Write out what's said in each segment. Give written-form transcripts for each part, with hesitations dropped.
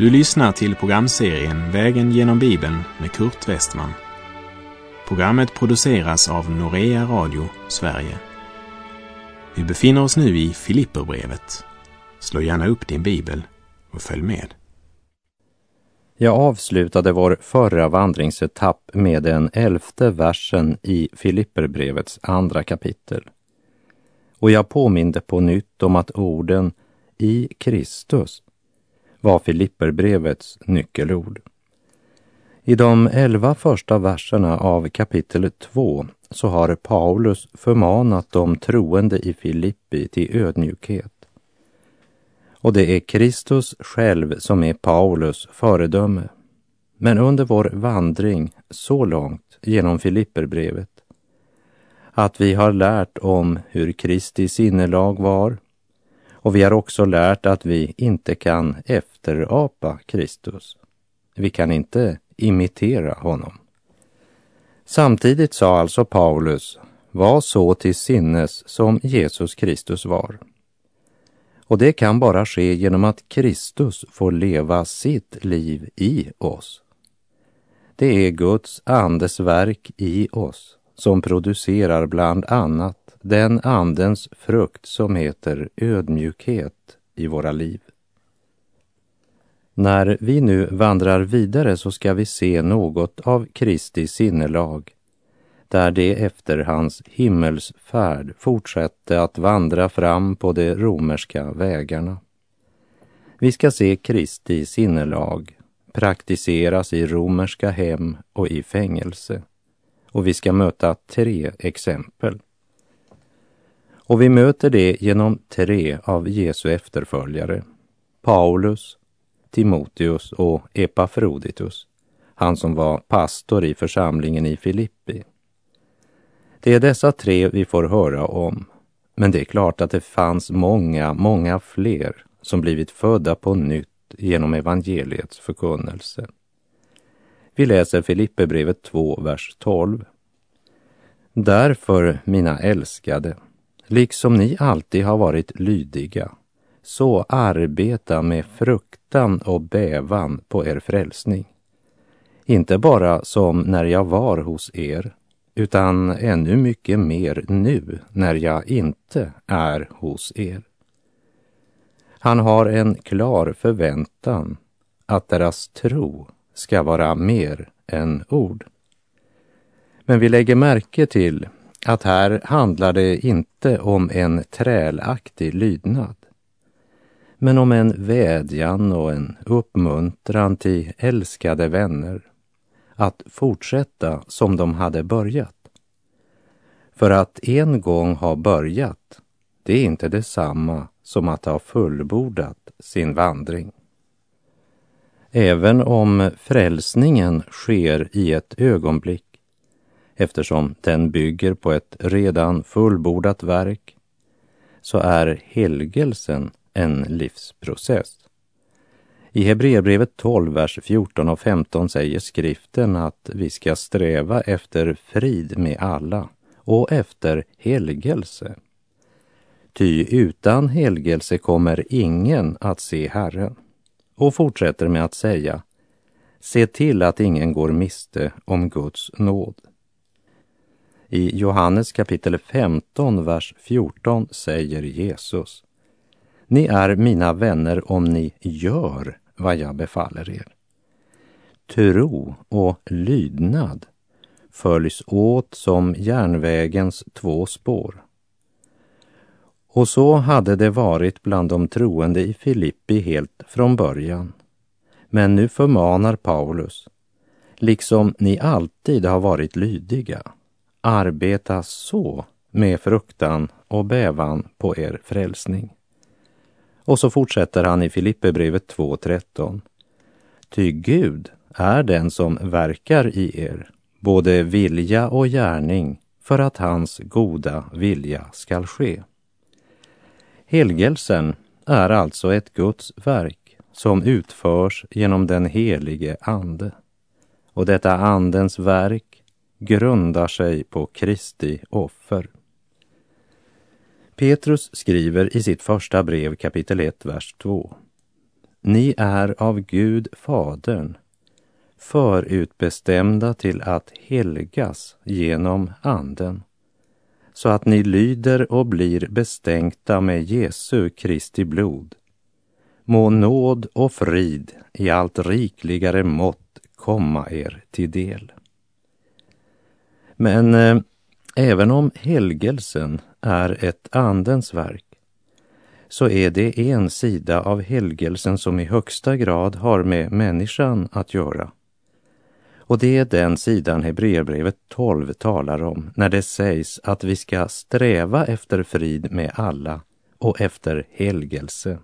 Du lyssnar till programserien Vägen genom Bibeln med Kurt Westman. Programmet produceras av Norea Radio, Sverige. Vi befinner oss nu i Filipperbrevet. Slå gärna upp din bibel och följ med. Jag avslutade vår förra vandringsetapp med den 11:e versen i Filipperbrevets andra kapitel. Och jag påminde på nytt om att orden i Kristus var Filipperbrevets nyckelord. I de 11 första verserna av kapitel 2 så har Paulus förmanat de troende i Filippi till ödmjukhet. Och det är Kristus själv som är Paulus föredöme. Men under vår vandring så långt genom Filipperbrevet att vi har lärt om hur Kristi sinnelag var, och vi har också lärt att vi inte kan efterapa Kristus. Vi kan inte imitera honom. Samtidigt sa alltså Paulus, var så till sinnes som Jesus Kristus var. Och det kan bara ske genom att Kristus får leva sitt liv i oss. Det är Guds andes verk i oss som producerar bland annat den andens frukt som heter ödmjukhet i våra liv. När vi nu vandrar vidare så ska vi se något av Kristi sinnelag, där det efter hans himmelsfärd fortsätter att vandra fram på de romerska vägarna. Vi ska se Kristi sinnelag praktiseras i romerska hem och i fängelse. Och vi ska möta 3 exempel. Och vi möter det genom 3 av Jesu efterföljare. Paulus, Timoteus och Epafroditus, han som var pastor i församlingen i Filippi. Det är dessa 3 vi får höra om, men det är klart att det fanns många fler som blivit födda på nytt genom evangeliets förkunnelse. Vi läser Filipperbrevet 2, vers 12. Därför, mina älskade, liksom ni alltid har varit lydiga, så arbeta med fruktan och bävan på er frälsning. Inte bara som när jag var hos er, utan ännu mycket mer nu när jag inte är hos er. Han har en klar förväntan att deras tro ska vara mer än ord. Men vi lägger märke till att här handlar det inte om en trälaktig lydnad, men om en vädjan och en uppmuntran till älskade vänner att fortsätta som de hade börjat. För att en gång ha börjat, det är inte detsamma som att ha fullbordat sin vandring. Även om frälsningen sker i ett ögonblick, eftersom den bygger på ett redan fullbordat verk, så är helgelsen en livsprocess. I Hebreerbrevet 12, vers 14 och 15 säger skriften att vi ska sträva efter frid med alla och efter helgelse. Ty utan helgelse kommer ingen att se Herren. Och fortsätter med att säga, se till att ingen går miste om Guds nåd. I Johannes kapitel 15, vers 14 säger Jesus, ni är mina vänner om ni gör vad jag befaller er. Tro och lydnad följs åt som järnvägens 2 spår. Och så hade det varit bland de troende i Filippi helt från början. Men nu förmanar Paulus, liksom ni alltid har varit lydiga, arbeta så med fruktan och bävan på er frälsning. Och så fortsätter han i Filipperbrevet 2:13. Ty Gud är den som verkar i er, både vilja och gärning, för att hans goda vilja skall ske. Helgelsen är alltså ett Guds verk som utförs genom den helige ande. Och detta andens verk grundar sig på Kristi offer. Petrus skriver i sitt första brev kapitel 1, vers 2. ni är av Gud Fadern förutbestämda till att helgas genom Anden, så att ni lyder och blir bestänkta med Jesu Kristi blod. Må nåd och frid i allt rikligare mått komma er till del. Men även om helgelsen är ett Andens verk, så är det en sida av helgelsen som i högsta grad har med människan att göra. Och det är den sidan Hebreerbrevet 12 talar om när det sägs att vi ska sträva efter frid med alla och efter helgelse.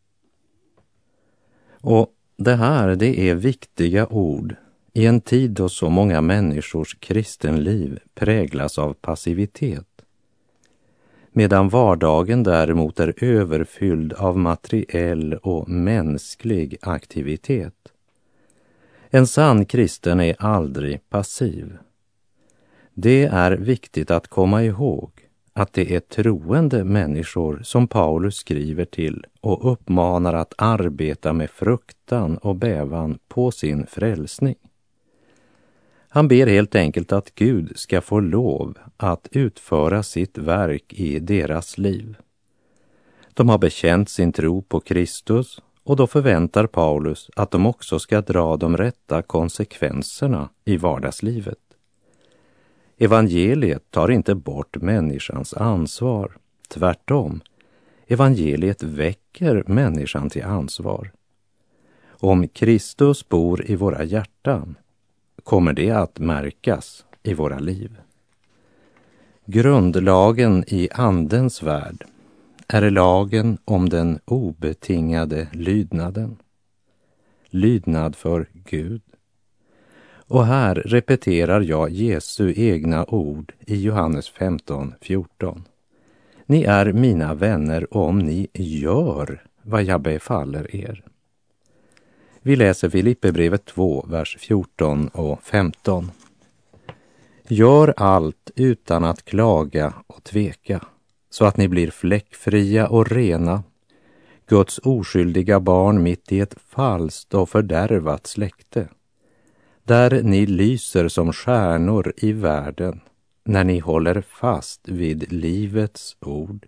Och det är viktiga ord i en tid då så många människors kristenliv präglas av passivitet, medan vardagen däremot är överfylld av materiell och mänsklig aktivitet. En sann kristen är aldrig passiv. Det är viktigt att komma ihåg att det är troende människor som Paulus skriver till och uppmanar att arbeta med fruktan och bävan på sin frälsning. Han ber helt enkelt att Gud ska få lov att utföra sitt verk i deras liv. De har bekänt sin tro på Kristus, och då förväntar Paulus att de också ska dra de rätta konsekvenserna i vardagslivet. Evangeliet tar inte bort människans ansvar. Tvärtom, evangeliet väcker människan till ansvar. Om Kristus bor i våra hjärtan, kommer det att märkas i våra liv. Grundlagen i Andens värld är lagen om den obetingade lydnaden. Lydnad för Gud. Och här repeterar jag Jesu egna ord i Johannes 15:14. Ni är mina vänner om ni gör vad jag befaller er. Vi läser Filipperbrevet 2, vers 14 och 15. Gör allt utan att klaga och tveka, så att ni blir fläckfria och rena, Guds oskyldiga barn mitt i ett falskt och fördärvat släkte, där ni lyser som stjärnor i världen, när ni håller fast vid livets ord.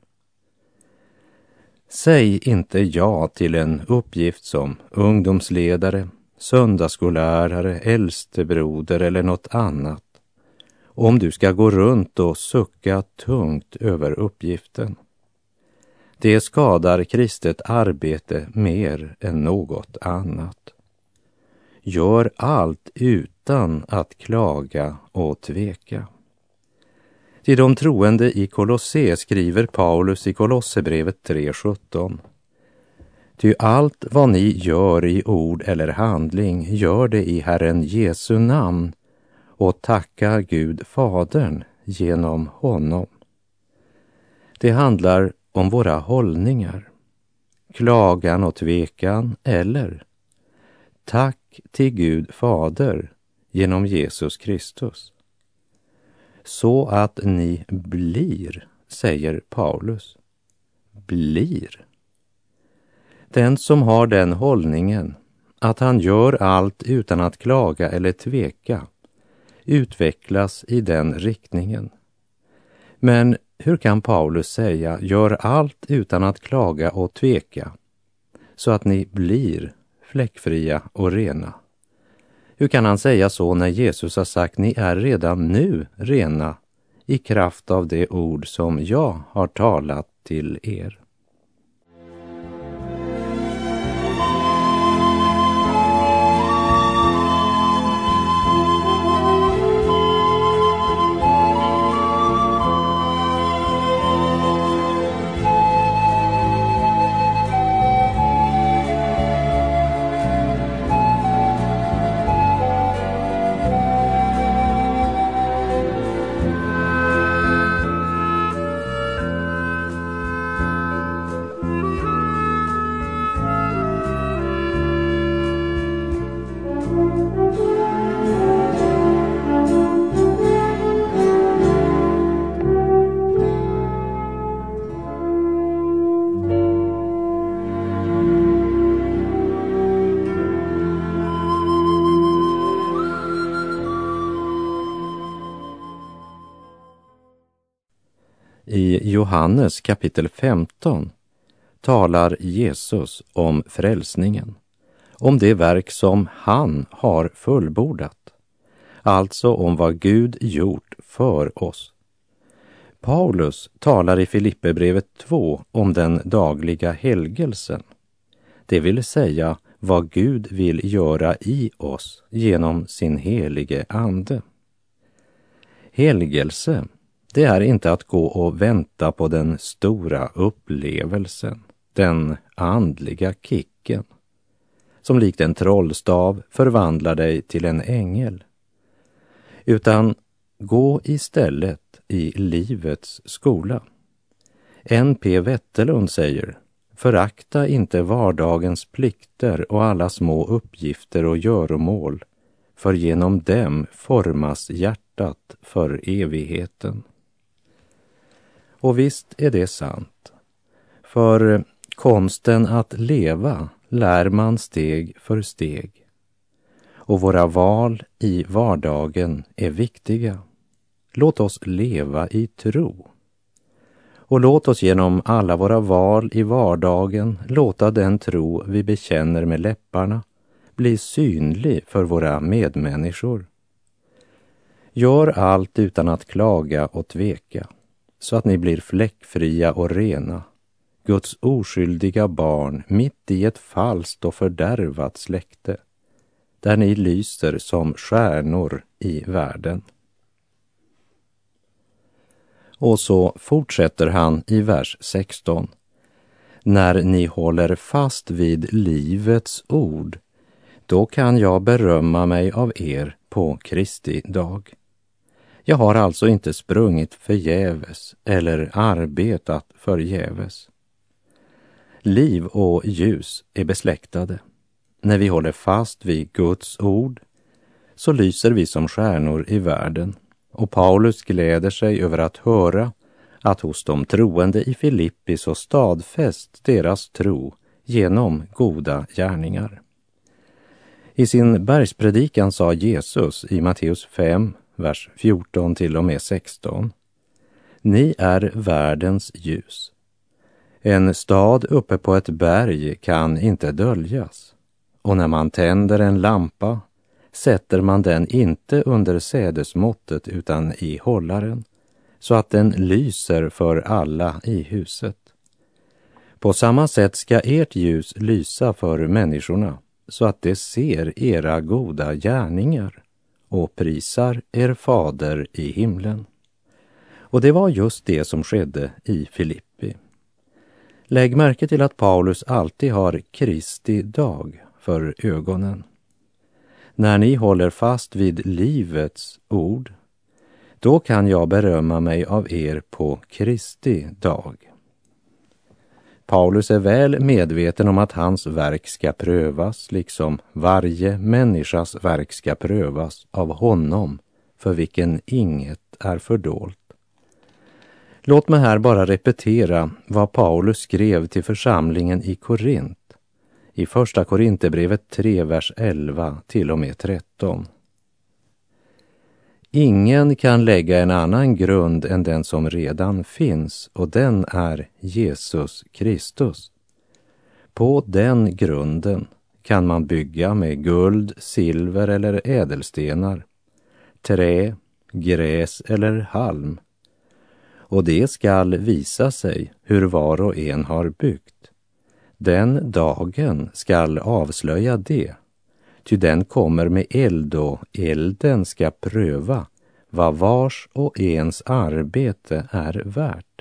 Säg inte ja till en uppgift som ungdomsledare, söndagsskollärare, äldstebroder eller något annat, om du ska gå runt och sucka tungt över uppgiften. Det skadar kristet arbete mer än något annat. Gör allt utan att klaga och tveka. Till de troende i Kolosse skriver Paulus i Kolosserbrevet 3:17. Ty allt vad ni gör i ord eller handling, gör det i Herren Jesu namn och tacka Gud Fadern genom honom. Det handlar om våra hållningar, klagan och tvekan eller tack till Gud Fader genom Jesus Kristus. Så att ni blir, säger Paulus. Blir. Den som har den hållningen att han gör allt utan att klaga eller tveka utvecklas i den riktningen. Men hur kan Paulus säga gör allt utan att klaga och tveka så att ni blir fläckfria och rena? Hur kan han säga så när Jesus har sagt ni är redan nu rena i kraft av det ord som jag har talat till er? I Johannes kapitel 15 talar Jesus om frälsningen, om det verk som han har fullbordat, alltså om vad Gud gjort för oss. Paulus talar i Filipperbrevet 2 om den dagliga helgelsen, det vill säga vad Gud vill göra i oss genom sin helige ande. Helgelse, det är inte att gå och vänta på den stora upplevelsen, den andliga kicken, som likt en trollstav förvandlar dig till en ängel. Utan gå istället i livets skola. N.P. Wetterlund säger: förakta inte vardagens plikter och alla små uppgifter och göromål, för genom dem formas hjärtat för evigheten. Och visst är det sant, för konsten att leva lär man steg för steg. Och våra val i vardagen är viktiga. Låt oss leva i tro. Och låt oss genom alla våra val i vardagen låta den tro vi bekänner med läpparna bli synlig för våra medmänniskor. Gör allt utan att klaga och tveka, så att ni blir fläckfria och rena, Guds oskyldiga barn mitt i ett falskt och fördärvat släkte, där ni lyser som stjärnor i världen. Och så fortsätter han i vers 16. När ni håller fast vid livets ord, då kan jag berömma mig av er på Kristi dag. Jag har alltså inte sprungit förgäves eller arbetat förgäves. Liv och ljus är besläktade. När vi håller fast vid Guds ord så lyser vi som stjärnor i världen. Och Paulus gläder sig över att höra att hos de troende i Filippi så stadfäst deras tro genom goda gärningar. I sin bergspredikan sa Jesus i Matteus 5, vers 14 till och med 16: Ni är världens ljus. En stad uppe på ett berg kan inte döljas. Och när man tänder en lampa sätter man den inte under sädesmåttet utan i hållaren, så att den lyser för alla i huset. På samma sätt ska ert ljus lysa för människorna, så att de ser era goda gärningar och prisar er fader i himlen. Och det var just det som skedde i Filippi. Lägg märke till att Paulus alltid har Kristi dag för ögonen. När ni håller fast vid livets ord, då kan jag berömma mig av er på Kristi dag. Paulus är väl medveten om att hans verk ska prövas, liksom varje människas verk ska prövas av honom, för vilken inget är fördolt. Låt mig här bara repetera vad Paulus skrev till församlingen i Korint, i första Korinthierbrevet 3, vers 11 till och med 13. Ingen kan lägga en annan grund än den som redan finns, och den är Jesus Kristus. På den grunden kan man bygga med guld, silver eller ädelstenar, trä, gräs eller halm. Och det skall visa sig hur var och en har byggt. Den dagen skall avslöja det, ty den kommer med eld och elden ska pröva vad vars och ens arbete är värt.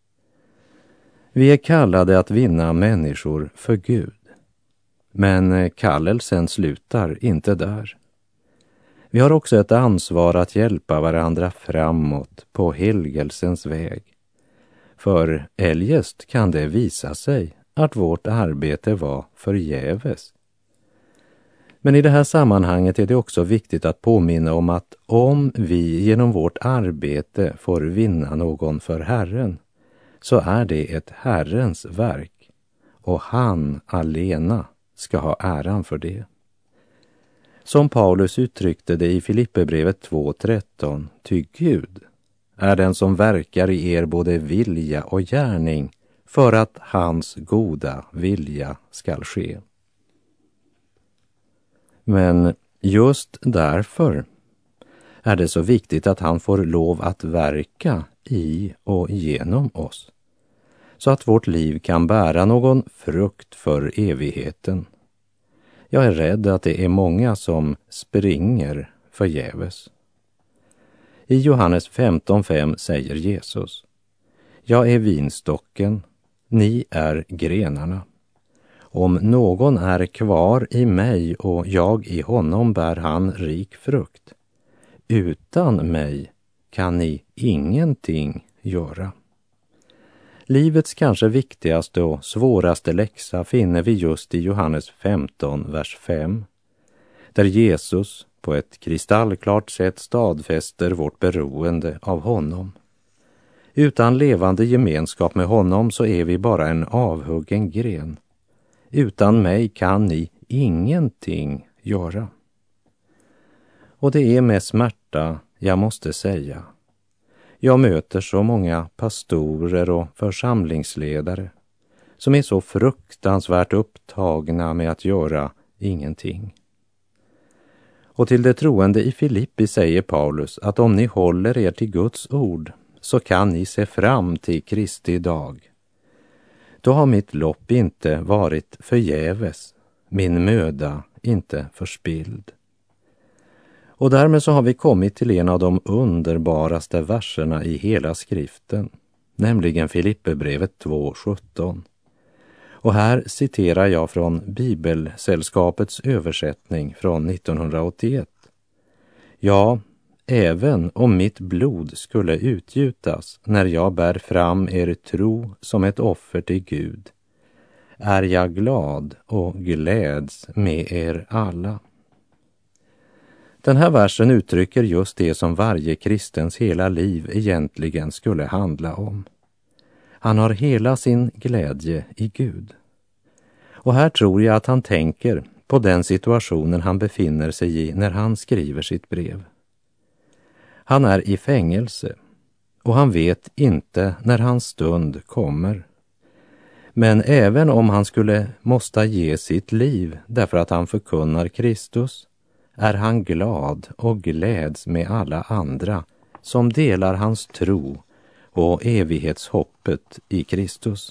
Vi är kallade att vinna människor för Gud, men kallelsen slutar inte där. Vi har också ett ansvar att hjälpa varandra framåt på helgelsens väg, för eljest kan det visa sig att vårt arbete var förgäves. Men i det här sammanhanget är det också viktigt att påminna om att om vi genom vårt arbete får vinna någon för Herren, så är det ett Herrens verk, och han alena ska ha äran för det. Som Paulus uttryckte det i Filipperbrevet 2:13, ty Gud är den som verkar i er både vilja och gärning för att hans goda vilja skall ske. Men just därför är det så viktigt att han får lov att verka i och genom oss, så att vårt liv kan bära någon frukt för evigheten. Jag är rädd att det är många som springer förgäves. I Johannes 15:5 säger Jesus: Jag är vinstocken, ni är grenarna. Om någon är kvar i mig och jag i honom bär han rik frukt. Utan mig kan ni ingenting göra. Livets kanske viktigaste och svåraste läxa finner vi just i Johannes 15, vers 5, där Jesus på ett kristallklart sätt stadfäster vårt beroende av honom. Utan levande gemenskap med honom så är vi bara en avhuggen gren. Utan mig kan ni ingenting göra. Och det är med smärta jag måste säga. Jag möter så många pastorer och församlingsledare som är så fruktansvärt upptagna med att göra ingenting. Och till det troende i Filippi säger Paulus att om ni håller er till Guds ord så kan ni se fram till Kristi dag. Då har mitt lopp inte varit förgäves, min möda inte förspilld. Och därmed så har vi kommit till en av de underbaraste verserna i hela skriften, nämligen Filipperbrevet 2:17. Och här citerar jag från Bibelsällskapets översättning från 1981. Ja, även om mitt blod skulle utgjutas när jag bär fram er tro som ett offer till Gud, är jag glad och gläds med er alla. Den här versen uttrycker just det som varje kristens hela liv egentligen skulle handla om. Han har hela sin glädje i Gud. Och här tror jag att han tänker på den situationen han befinner sig i när han skriver sitt brev. Han är i fängelse och han vet inte när hans stund kommer. Men även om han skulle måste ge sitt liv därför att han förkunnar Kristus, är han glad och gläds med alla andra som delar hans tro och evighetshoppet i Kristus.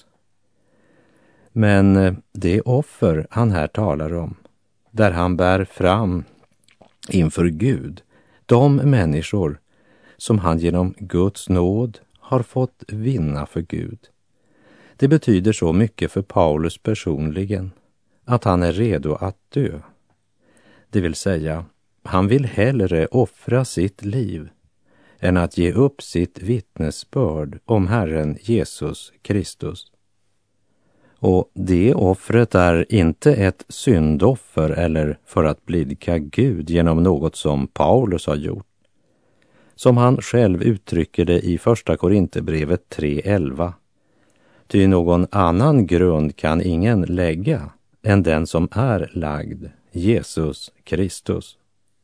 Men det offer han här talar om, där han bär fram inför Gud de människor som han genom Guds nåd har fått vinna för Gud. Det betyder så mycket för Paulus personligen att han är redo att dö. Det vill säga, han vill hellre offra sitt liv än att ge upp sitt vittnesbörd om Herren Jesus Kristus. Och det offret är inte ett syndoffer eller för att blidka Gud genom något som Paulus har gjort. Som han själv uttrycker det i första Korinthierbrevet 3:11. Ty någon annan grund kan ingen lägga än den som är lagd, Jesus Kristus.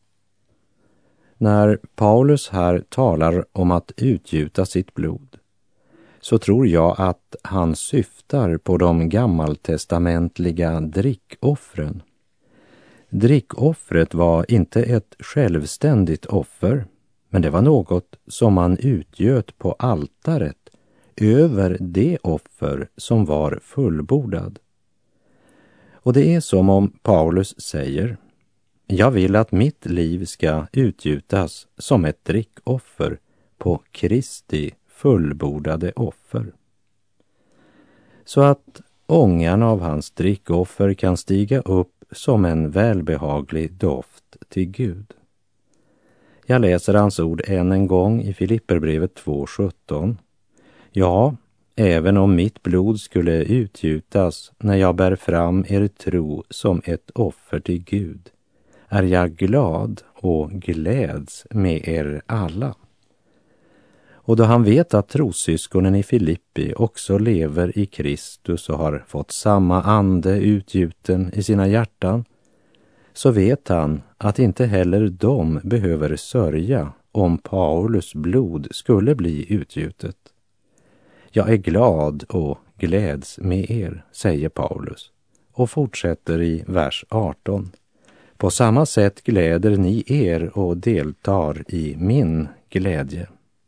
När Paulus här talar om att utgjuta sitt blod, så tror jag att han syftar på de gammaltestamentliga drickoffren. Drickoffret var inte ett självständigt offer, men det var något som man utgöt på altaret över det offer som var fullbordad. Och det är som om Paulus säger: jag vill att mitt liv ska utgjutas som ett drickoffer på Kristi fullbordade offer. Så att ångan av hans drickoffer kan stiga upp som en välbehaglig doft till Gud. Jag läser hans ord än en gång i Filipperbrevet 2:17. Ja, även om mitt blod skulle utgjutas när jag bär fram er tro som ett offer till Gud, är jag glad och gläds med er alla. Och då han vet att trossyskonen i Filippi också lever i Kristus och har fått samma ande utgjuten i sina hjärtan, så vet han att inte heller de behöver sörja om Paulus blod skulle bli utgjutet. Jag är glad och gläds med er, säger Paulus, och fortsätter i vers 18. På samma sätt gläder ni er och deltar i min glädje.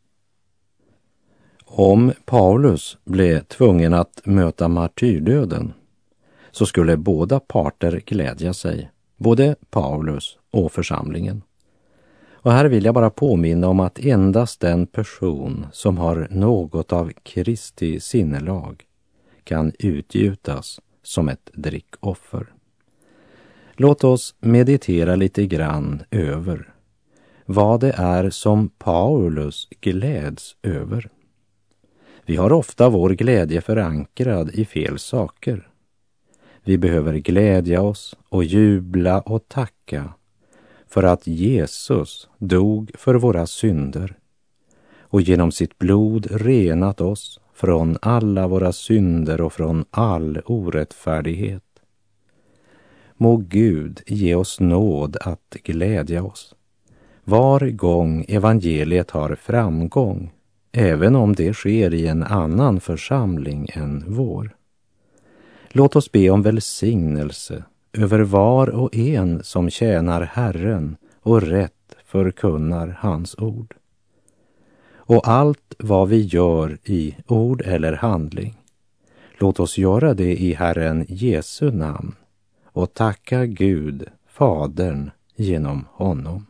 Om Paulus blev tvungen att möta martyrdöden så skulle båda parter glädja sig, både Paulus och församlingen. Och här vill jag bara påminna om att endast den person som har något av Kristi sinnelag kan utgjutas som ett drickoffer. Låt oss meditera lite grann över vad det är som Paulus gläds över. Vi har ofta vår glädje förankrad i fel saker. Vi behöver glädja oss och jubla och tacka för att Jesus dog för våra synder och genom sitt blod renat oss från alla våra synder och från all orättfärdighet. Må Gud ge oss nåd att glädja oss var gång evangeliet har framgång, även om det sker i en annan församling än vår. Låt oss be om välsignelse över var och en som tjänar Herren och rätt förkunnar hans ord. Och allt vad vi gör i ord eller handling, låt oss göra det i Herren Jesu namn och tacka Gud, Fadern, genom honom.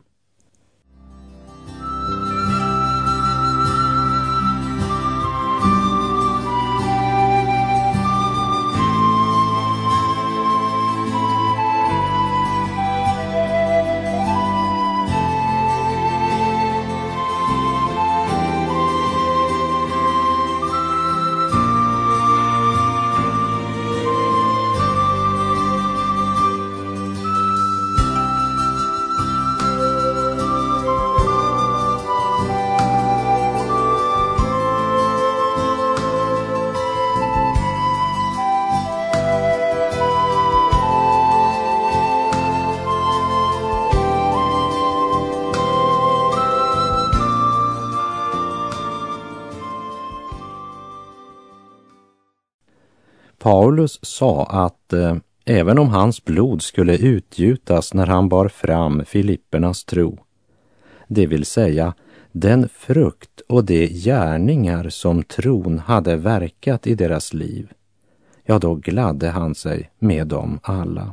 Paulus sa att även om hans blod skulle utgjutas när han bar fram Filippernas tro, det vill säga den frukt och de gärningar som tron hade verkat i deras liv, ja, då gladde han sig med dem alla.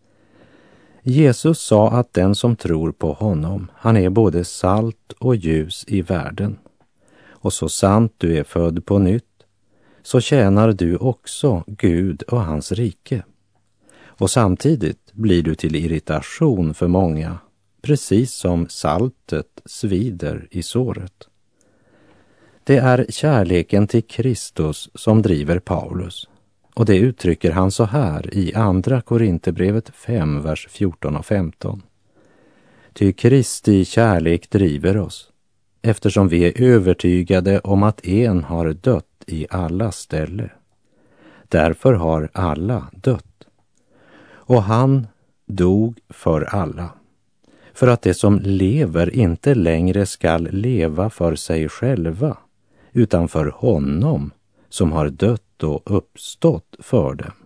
Jesus sa att den som tror på honom, han är både salt och ljus i världen. Och så sant du är född på nytt, så tjänar du också Gud och hans rike. Och samtidigt blir du till irritation för många, precis som saltet svider i såret. Det är kärleken till Kristus som driver Paulus, och det uttrycker han så här i andra Korinthierbrevet 5, vers 14 och 15. Ty Kristi kärlek driver oss, eftersom vi är övertygade om att en har dött i alla ställe. Därför har alla dött. Och han dog för alla, för att de som lever inte längre skall leva för sig själva, utan för honom som har dött och uppstått för dem.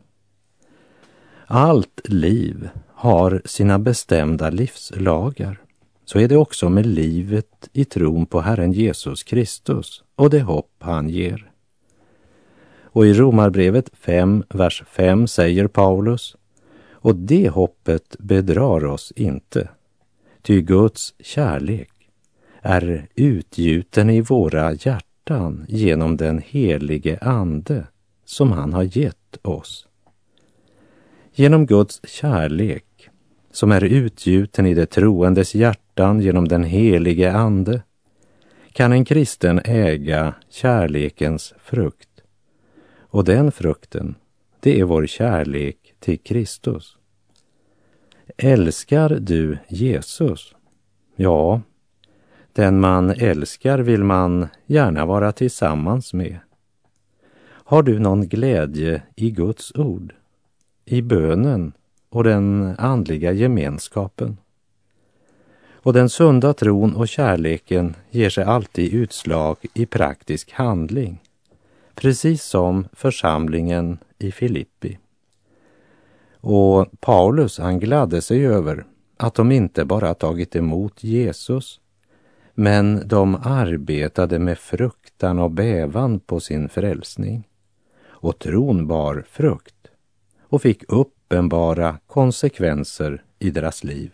Allt liv har sina bestämda livslagar. Så är det också med livet i tron på Herren Jesus Kristus och det hopp han ger. Och i Romarbrevet 5, vers 5 säger Paulus: och det hoppet bedrar oss inte, ty Guds kärlek är utgjuten i våra hjärtan genom den helige ande som han har gett oss. Genom Guds kärlek, som är utgjuten i det troendes hjärtan genom den helige ande, kan en kristen äga kärlekens frukt. Och den frukten, det är vår kärlek till Kristus. Älskar du Jesus? Ja, den man älskar vill man gärna vara tillsammans med. Har du någon glädje i Guds ord, i bönen och den andliga gemenskapen? Och den sunda tron och kärleken ger sig alltid utslag i praktisk handling, precis som församlingen i Filippi. Och Paulus, han gladde sig över att de inte bara tagit emot Jesus, men de arbetade med fruktan och bävan på sin frälsning. Och tron bar frukt och fick uppenbara konsekvenser i deras liv.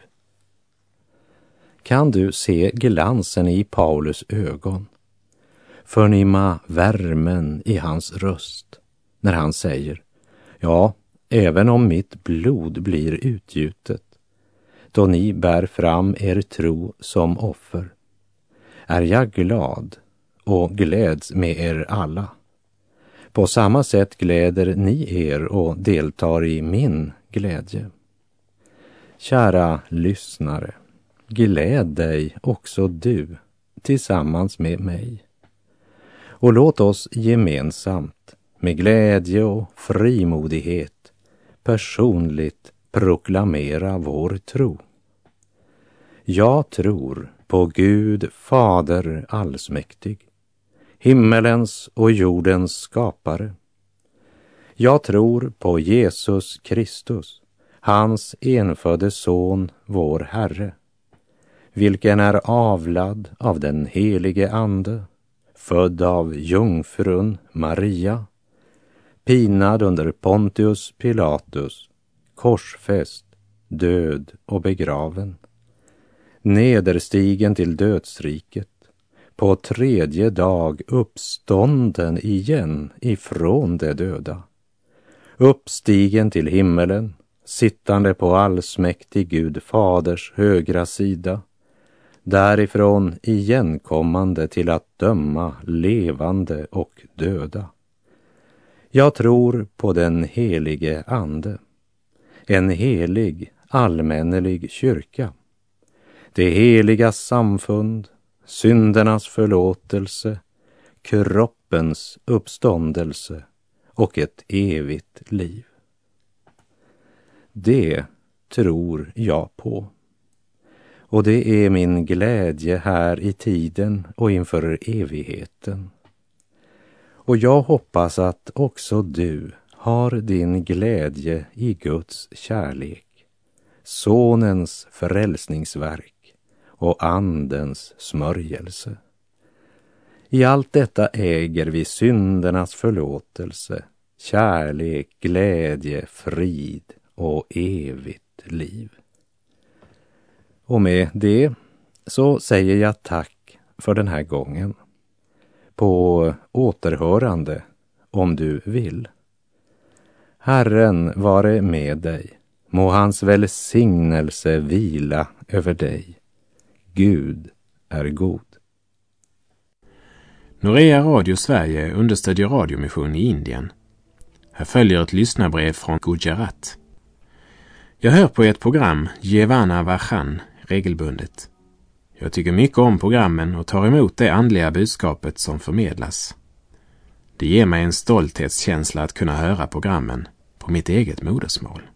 Kan du se glansen i Paulus ögon? Förnimma värmen i hans röst när han säger: ja, även om mitt blod blir utgjutet, då ni bär fram er tro som offer, är jag glad och gläds med er alla. På samma sätt gläder ni er och deltar i min glädje. Kära lyssnare, gläd dig också du tillsammans med mig. Och låt oss gemensamt med glädje och frimodighet personligt proklamera vår tro. Jag tror på Gud Fader allsmäktig, himmelens och jordens skapare. Jag tror på Jesus Kristus, hans enfödde son, vår Herre, vilken är avlad av den helige Ande, född av jungfrun Maria, pinad under Pontius Pilatus, korsfäst, död och begraven, nederstigen till dödsriket, på tredje dag uppstånden igen ifrån de döda, uppstigen till himmelen, sittande på allsmäktig Gud Faders högra sida, därifrån igenkommande till att döma levande och döda. Jag tror på den helige Ande, en helig allmännelig kyrka, det heliga samfund, syndernas förlåtelse, kroppens uppståndelse och ett evigt liv. Det tror jag på. Och det är min glädje här i tiden och inför evigheten. Och jag hoppas att också du har din glädje i Guds kärlek, Sonens frälsningsverk och Andens smörjelse. I allt detta äger vi syndernas förlåtelse, kärlek, glädje, frid och evigt liv. Och med det så säger jag tack för den här gången. På återhörande om du vill. Herren vare med dig. Må hans välsignelse vila över dig. Gud är god. Norea Radio Sverige understödjer radiomission i Indien. Här följer ett lyssnarbrev från Gujarat. Jag hör på ett program, Jevana Vajan, regelbundet. Jag tycker mycket om programmen och tar emot det andliga budskapet som förmedlas. Det ger mig en stolthetskänsla att kunna höra programmen på mitt eget modersmål.